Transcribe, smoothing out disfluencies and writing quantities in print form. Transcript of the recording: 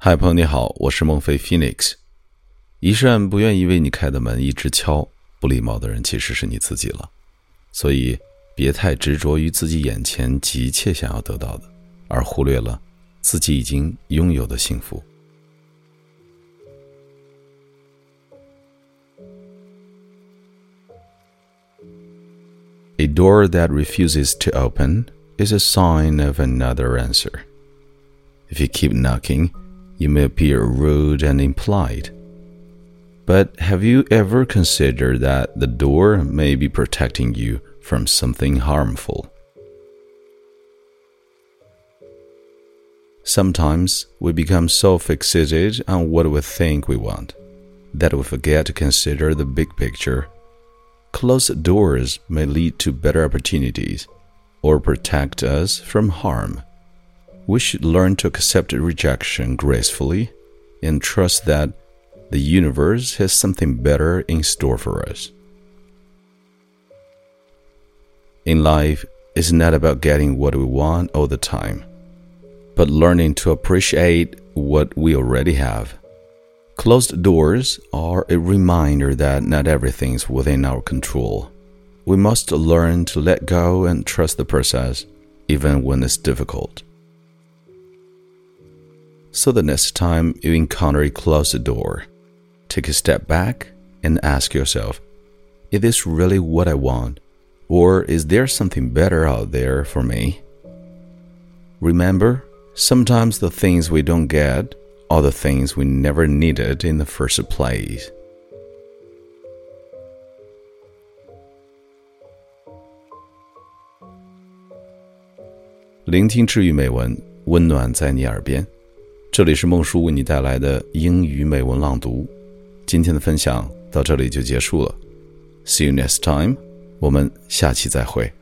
嗨，朋友你好，我是孟非 Phoenix。 一扇不愿意为你开的门一直敲，不礼貌的人其实是你自己了。所以别太执着于自己眼前急切想要得到的，而忽略了自己已经拥有的幸福。A door that refuses to open is a sign of another answer. If you keep knocking, you may appear rude and impolite. But have you ever considered that the door may be protecting you from something harmful? Sometimes we become so fixated on what we think we want that we forget to consider the big picture. Closed doors may lead to better opportunities or protect us from harm. We should learn to accept rejection gracefully and trust that the universe has something better in store for us. In life, it's not about getting what we want all the time, but learning to appreciate what we already have. Closed doors are a reminder that not everything is within our control. We must learn to let go and trust the process, even when it's difficult. So the next time you encounter a closed door, take a step back and ask yourself, is this really what I want? Or is there something better out there for me? Remember, sometimes the things we don't get are the things we never needed in the first place. 聆听治愈美文，温暖在你耳边。这里是孟叔为你带来的英语美文朗读。今天的分享到这里就结束了。See you next time. 我们下期再会。